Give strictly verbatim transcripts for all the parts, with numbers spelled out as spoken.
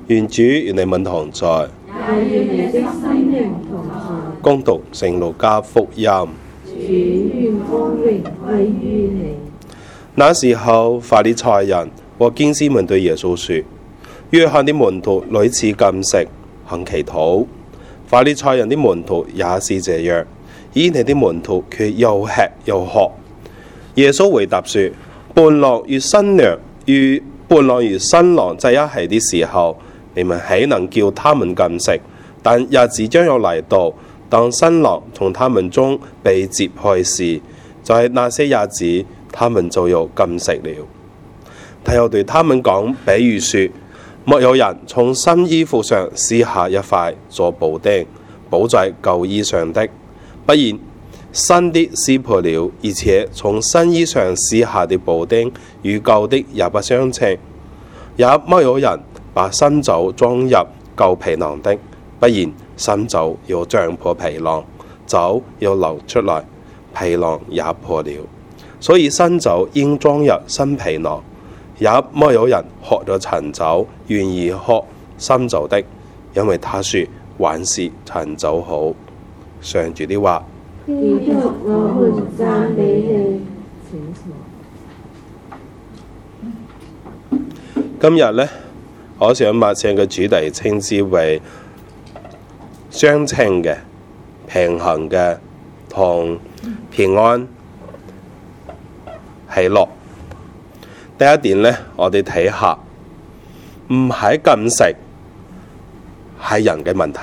願主與你們同在， 也與你的心靈同在。 恭讀聖路加福音。 主願光榮歸於你。 那時候，法利賽人和經師們對耶穌說：約翰的門徒屢次禁食行祈禱，法利賽人的門徒也是這樣，而你的門徒卻又吃又喝。耶穌回答說：伴郎與新娘與伴郎與新郎在一起的時候，你們豈能叫他們禁食？但日子將要嚟到，當新郎從他們中被接去時，就係那些日子，他們就要禁食了。他又對他們講比喻說：沒有人從新衣服上撕下一塊做補丁，補在舊衣上的，不然新的撕破了，而且從新衣上撕下的補丁與舊的也不相稱。也沒有人把新酒裝入舊皮囊的，不然新酒要漲破皮囊，酒要流出來，皮囊也破了。所以新酒應裝入新皮囊。也沒有人喝咗陳酒願意喝新酒的，因為他說還是陳酒好。上主的話。今日呢，我想默想嘅主題稱之為相稱嘅、平衡嘅同平安喜樂。第一點呢，我哋睇下，唔係禁食，係人嘅問題。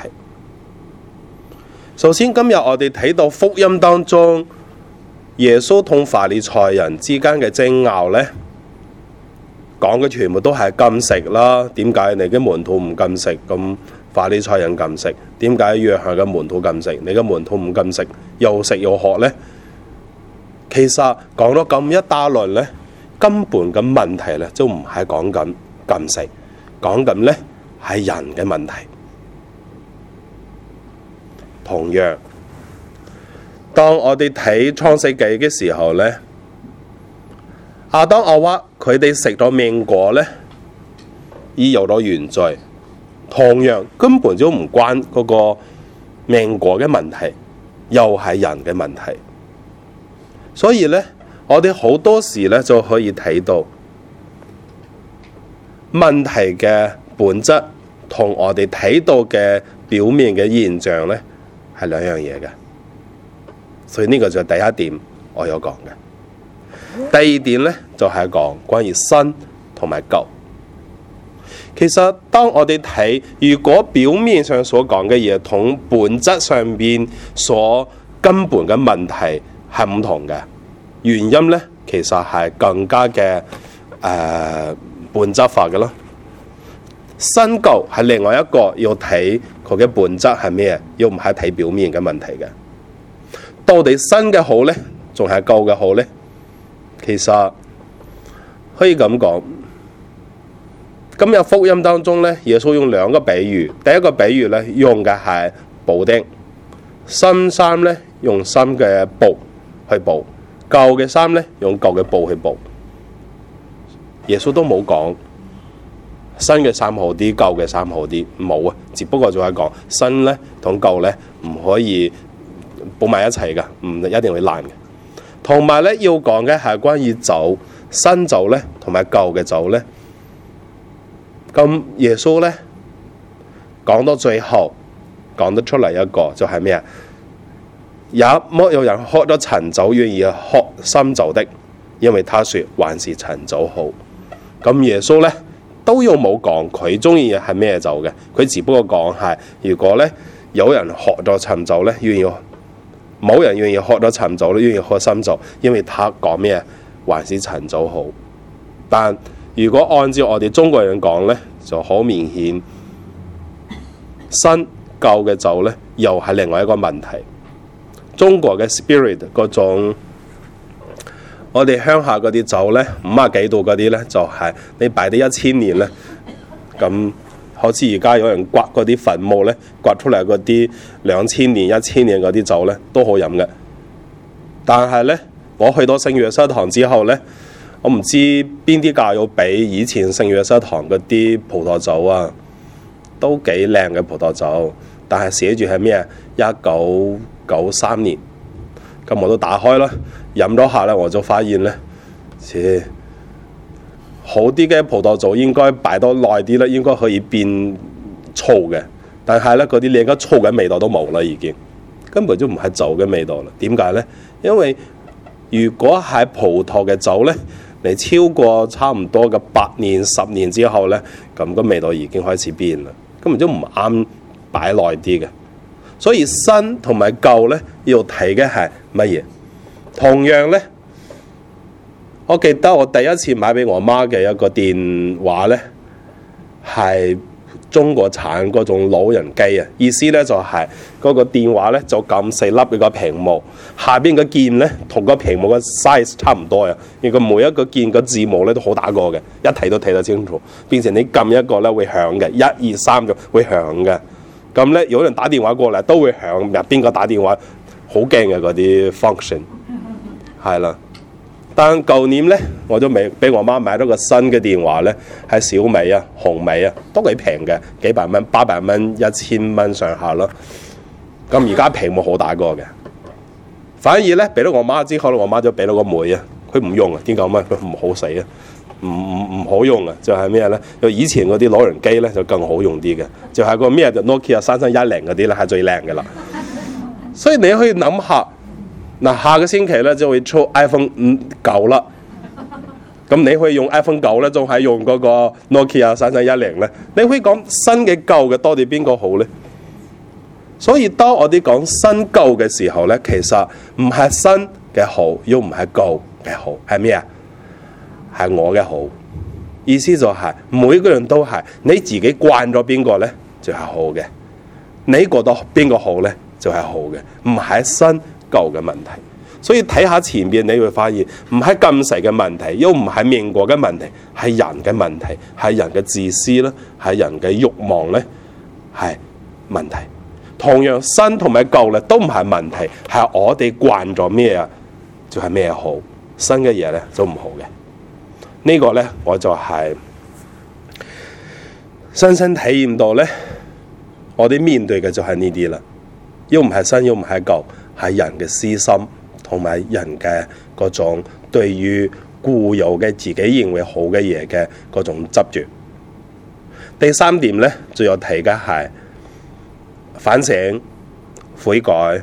首先，今日我哋睇到福音當中，耶穌同法利賽人之間嘅爭拗呢，講嘅全部都係禁食啦。點解你嘅門徒唔禁食？咁法利賽人禁食，點解約翰嘅門徒禁食？你嘅門徒唔禁食，又食又喝呢？其實講咗咁一大輪呢，根本嘅問題咧，都唔係講緊禁食，講緊咧係人嘅問題。同樣，當我哋睇創世記嘅時候咧，亞當夏娃佢哋食咗命果咧，已有咗原罪。同樣根本就唔關嗰個命果嘅問題，又係人嘅問題。所以咧，我哋好多時咧就可以睇到問題嘅本質同我哋睇到嘅表面嘅現象咧係兩樣嘢嘅，所以呢個就係第一點我有講嘅。第二點咧就係講關於新同埋舊。其實當我哋睇，如果表面上所講嘅嘢同本質上邊所根本嘅問題係唔同嘅。原因咧，其實係更加嘅誒、呃、本質化嘅咯。新舊係另外一個要睇佢嘅本質係咩，要唔係睇表面嘅問題嘅。到底新嘅好咧，仲係舊嘅好咧？其實可以咁講。今日福音當中咧，耶穌用兩個比喻。第一個比喻咧，用嘅係補丁，新衫咧用新嘅布去補。舊嘅衫咧，用舊嘅布去補。耶穌都冇講新嘅衫好啲，舊嘅衫好啲，冇啊。只不過就係講新咧同舊咧唔可以補埋一齊噶，唔一定會爛嘅。同埋咧要講嘅係關於酒，新酒咧同埋舊嘅酒咧。咁耶穌咧講到最後講得出嚟一個就係咩啊？也沒有人喝咗陳酒願意喝新酒的，因為他說還是陳酒好。咁耶穌咧都有冇講佢中意係咩酒嘅？佢只不過講係如果咧有人喝咗陳酒咧，願意冇人願意喝咗陳酒咧，願意喝新酒，因為他講咩還是陳酒好。但如果按照我哋中國人講咧，就好明顯新舊嘅酒咧又係另外一個問題。中國嘅 spirit 嗰種，我哋鄉下嗰啲酒咧，五啊幾度嗰啲咧，就係、是、你擺啲一千年咧，咁好似而家有人刮嗰啲墳墓咧，刮出嚟嗰啲兩千年、一千年嗰啲酒咧，都好飲嘅。但係咧，我去到聖約瑟堂之後咧，我唔知邊啲教友比以前聖約瑟堂嗰啲葡萄酒啊， 都幾靚嘅葡萄酒，但係寫住係咩啊？一九九三年，咁我都打開啦，飲咗下咧，我就發現咧，切好啲嘅葡萄酒應該擺多耐啲咧，應該可以變醋嘅，但係咧嗰啲連個醋嘅味道都冇啦，已經根本就唔係酒嘅味道啦。點解咧？因為如果係葡萄嘅酒咧，你超過差唔多嘅八年、十年之後咧，咁個味道已經開始變啦，根本就唔啱擺耐啲嘅。所以新同埋舊咧要睇嘅係乜嘢？同樣咧，我記得我第一次買俾我媽嘅一個電話咧，係中國產嗰種老人機啊，意思咧就係、是、嗰個電話咧就咁細粒嘅個屏幕，下邊個鍵咧同個屏幕嘅 size 差唔多啊，而個每一個鍵個字母咧都好大個嘅，一睇都睇得清楚，變成你撳一個咧會響嘅，一二三就會響嘅。咁咧有人打電話過嚟都會響，入邊個打電話好驚嘅嗰啲 function 係啦。但舊年咧，我都未俾我媽買咗個新嘅電話咧，係小米啊、紅米啊，都幾平嘅，幾百蚊、八百蚊、一千蚊上下咯。咁而家屏幕好大個嘅，反而咧俾咗我媽之後，我媽就俾咗個妹啊，佢唔用啊，點解咁啊？佢唔好使啊，唔唔唔好用啊，就係咩咧？就以前嗰啲老人機咧就更好用啲嘅，就係、是、個咩就 Nokia 三三一零嗰啲咧係最靚嘅啦。所以你可以諗下。嗱，下個星期咧就會出 iPhone 五九啦，咁你可以用 iPhone 九咧，仲係用嗰個 Nokia 三三一零咧？你可以講新嘅舊嘅多啲邊個好咧？所以當我哋講新舊嘅時候咧，其實唔係新嘅好，又唔係舊嘅好，係咩啊？係我嘅好，意思就係、是、每個人都係你自己慣咗邊個咧，就係、是、好嘅；你覺得邊個好咧，就係、是、好嘅，唔係新舊嘅問題。所以睇下前邊你會發現唔係禁食嘅問題，又唔係命國嘅問題，係人嘅問題，係人嘅自私啦，係人嘅慾望咧，係問題。同樣新同埋舊咧都唔係問題，係我哋慣咗咩啊，就係咩好，新嘅嘢咧就唔好嘅。呢個咧我就係深深體驗到咧，我哋面對嘅就係呢啲啦，又唔係新又唔係舊，係人嘅私心同埋人嘅嗰種對於固有嘅自己認為好嘅嘢嘅嗰種執着。第三點咧，最有提嘅係反省、悔改、誒、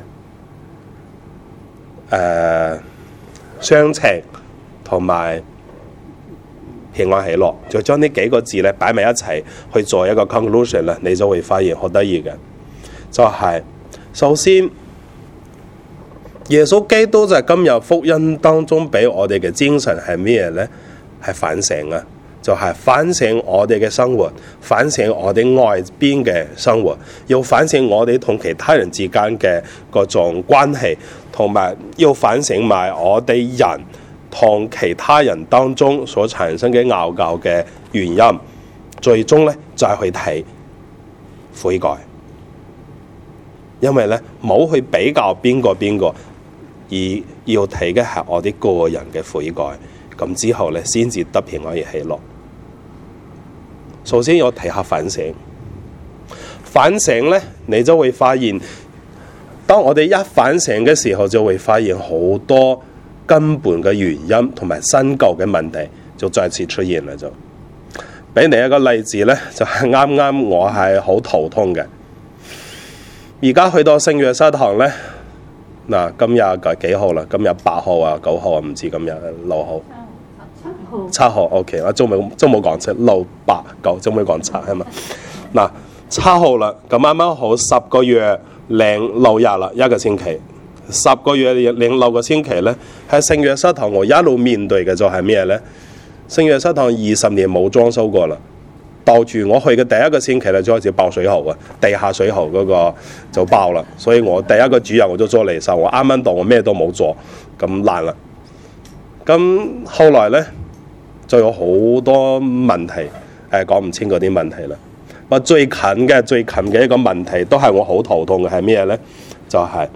呃、相情同埋平安喜樂，就將呢幾個字咧擺埋一齊去做一個 conclusion 啦，你就會發現好得意嘅，就係、是、首先。耶穌基督就係今日福音當中俾我哋嘅精神係咩咧？係反省啊，就係、是、反省我哋嘅生活，反省我哋外邊嘅生活，要反省我哋同其他人之間嘅嗰種關係，同埋要反省埋我哋人同其他人當中所產生嘅拗撬嘅原因，最終咧就係、是、去睇悔改，因為咧冇去比較邊個邊個。而要睇嘅係我哋個人嘅悔改，咁之後咧先至得平安而喜樂。首先要睇下反省，反省咧你就會發現，當我哋一反省嘅時候，就會發現好多根本嘅原因同埋新舊嘅問題就再次出現啦。就俾你一個例子咧，就係啱啱我係好頭痛嘅，而家去到聖約瑟堂咧。嗱，今日幾號啦？今日八號啊，九號啊，唔知今日六號。七號。七號 ，OK， 我仲冇仲冇講七，六八九，仲冇講七係嘛？嗱，七號啦，咁啱啱好十個月零六日啦，一個星期，十個月零六個星期咧，喺聖約瑟堂我一路面對嘅就係咩咧？聖約瑟堂二十年冇裝修過啦。到住我去嘅第一個星期咧，就開始爆水喉啊！地下水喉嗰個就爆啦，所以我第一個主日我就做離手，我啱啱到我咩都冇做，咁爛啦。咁後來咧就有好多問題，誒講唔清嗰啲問題啦。我最近嘅最近嘅一個問題都係我好頭痛嘅係咩咧？就係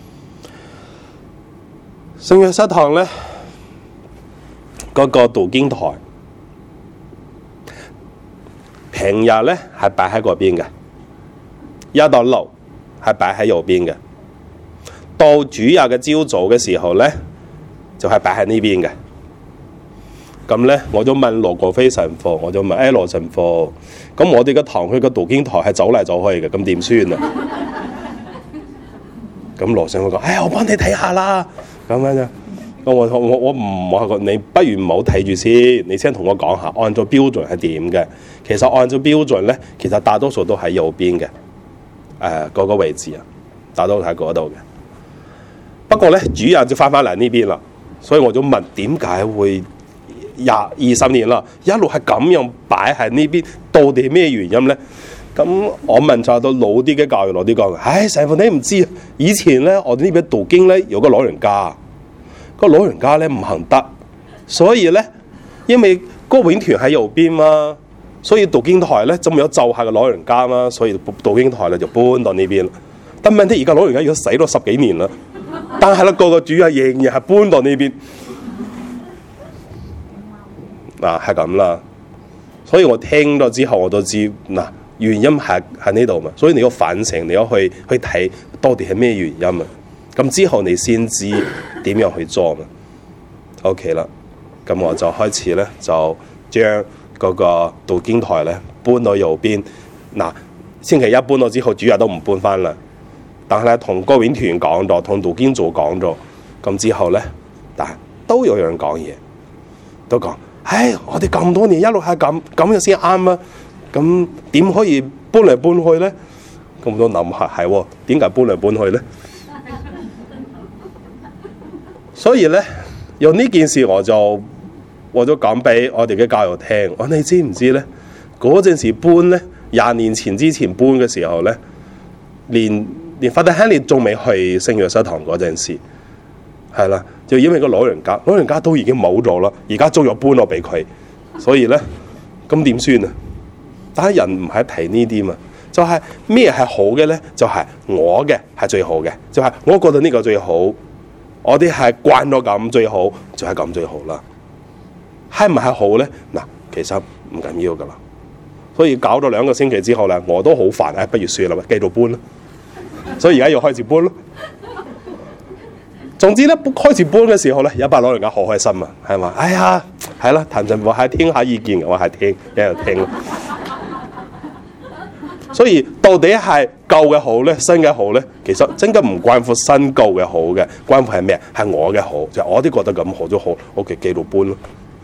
聖約瑟堂咧嗰個讀經台。 平日咧係擺喺嗰邊嘅，一到六係擺喺右邊嘅，到主日嘅朝早嘅時候咧就係擺喺呢邊嘅。咁咧我就問羅國飛神父，我就問誒羅神父，咁我哋嘅堂區嘅讀經台係走嚟走去嘅，咁點算啊？咁羅神父講：哎呀，我幫你睇下啦，咁樣啫。我我我我唔我你不如唔好睇住先，你先同我講下，按照標準係點嘅？其實按照標準咧，其實大多數都喺右邊嘅，誒、呃、嗰、那個位置啊，大多數喺嗰度嘅。不過咧，主日就翻返嚟呢邊啦，所以我就問點解會廿二十年啦，一路係咁樣擺喺呢邊，到底咩原因咧？咁我問晒到老啲嘅教育老啲講，唉，神父你唔知啊，以前咧我哋呢邊讀經咧有個老人家。個老人家咧唔行得，所以咧，因為歌詠團喺右邊嘛，所以讀經台咧就冇有就下個老人家嘛，所以讀經台咧就搬到呢邊。但問題而家老人家已經死咗十幾年啦，但係咧個個主日仍然係搬到呢邊，嗱係咁啦。所以我聽咗之後我都知嗱原因係喺呢度嘛，所以你要反省，你要去去睇到底係咩原因啊。咁之後你先知點樣去做嘛 ？OK 啦，咁我就開始咧，就將嗰個讀經台咧搬到右邊。嗱，星期一搬到之後，主日都唔搬翻啦。但係咧，同歌詠團講咗，同讀經組講咗，咁之後咧，但係都有人講嘢，都講：唉，我哋咁多年一路係咁，咁樣先啱啊！咁點可以搬嚟搬去咧？咁我都諗下，係喎，點解搬嚟搬去咧？所以咧，用呢件事我就我就講俾我哋嘅教育聽。我你知唔知咧？嗰陣時搬咧，廿年前之前搬嘅時候咧，連連法德亨利仲未去聖約瑟堂嗰陣時，係啦，就因為個老人家，老人家都已經冇咗啦，而家仲要搬落俾佢，所以咧，咁點算啊？但係人唔係睇呢啲嘛，就係咩係好嘅咧？就係、是、我嘅係最好嘅，就係、是、我覺得呢個最好。我哋係慣咗咁最好，就係咁最好啦。係唔係好咧？嗱，其實唔緊要噶啦。所以搞咗兩個星期之後咧，我都好煩，唉，不如算啦，繼續搬啦。所以而家要開始搬咯。總之咧，開始搬嘅時候咧，有一班老人家好開心啊，係嘛？哎呀，係啦，譚神父係聽下意見，我係聽，一路聽。所以到底係舊嘅好咧，新嘅好咧，其實真嘅唔關乎新舊嘅好嘅，關乎係咩？係我嘅好，就係、我都覺得咁好都好 ，OK， 繼續搬咯。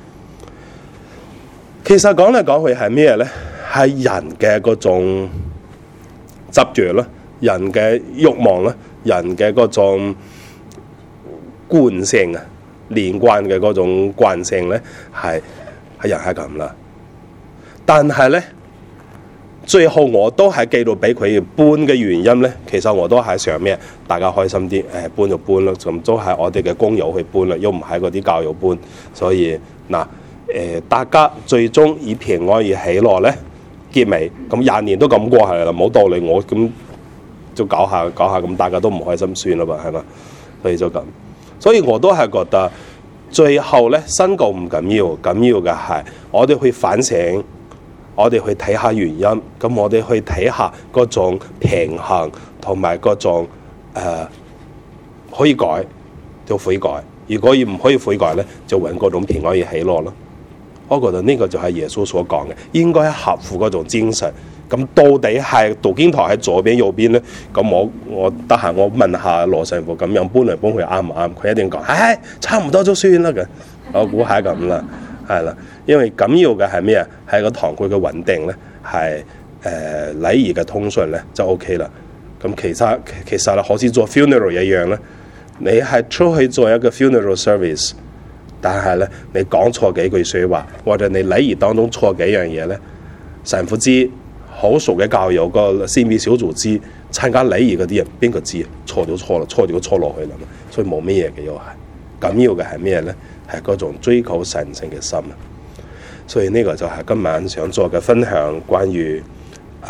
其實講嚟講去係咩咧？係人嘅嗰種執着啦，人嘅慾望啦，人嘅嗰種慣性啊，連貫嘅嗰種慣性咧，係係人係咁啦。但係咧。最後我都係記到俾佢搬嘅原因咧，其實我都係想咩？大家開心啲，誒搬就搬咯，咁都係我哋嘅工友去搬啦，又唔係嗰啲教友搬，所以嗱誒、呃，大家最終以平安而喜樂咧結尾，咁廿年都咁過係啦，冇道理我咁就搞下搞下，咁大家都唔開心算啦嘛，係嘛？所以就咁，所以我都係覺得最後咧新舊唔緊要，緊要嘅係我哋去反省。我哋去睇下原因，咁我哋去睇下嗰種平衡同埋嗰種誒、呃、可以改就悔改，如果唔可以悔改咧，就揾嗰種平安而喜樂咯。我覺得呢個就係耶穌所講嘅，應該合乎嗰種精神。咁到底係讀經台喺左邊右邊咧？咁我我得閒我問下羅神父咁樣搬嚟搬去啱唔啱？佢一定講，唉，差唔多就算啦嘅。我估係咁啦。係啦，因為緊要嘅係咩啊？係個堂區嘅穩定咧，係誒禮儀嘅通順咧就 OK 啦。咁其實其實咧，好似做 funeral 一樣咧，你係出去做一個 funeral service，但係咧你講錯幾句説話，或者你禮儀當中錯幾樣嘢咧，神父知，好熟嘅教友個先別小組知，參加禮儀嗰啲人邊個知啊？錯就錯啦，錯就錯落去啦，所以冇咩嘢嘅又係。緊要嘅係咩咧？係嗰種追求神聖嘅心啊！所以呢個就係今晚想做嘅分享，關於誒、呃、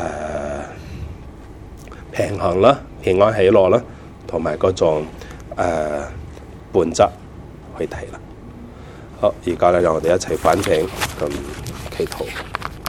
平衡啦、平安喜樂啦，同埋嗰種誒、呃、本質去睇啦。好，而家咧讓我哋一齊反省咁祈禱。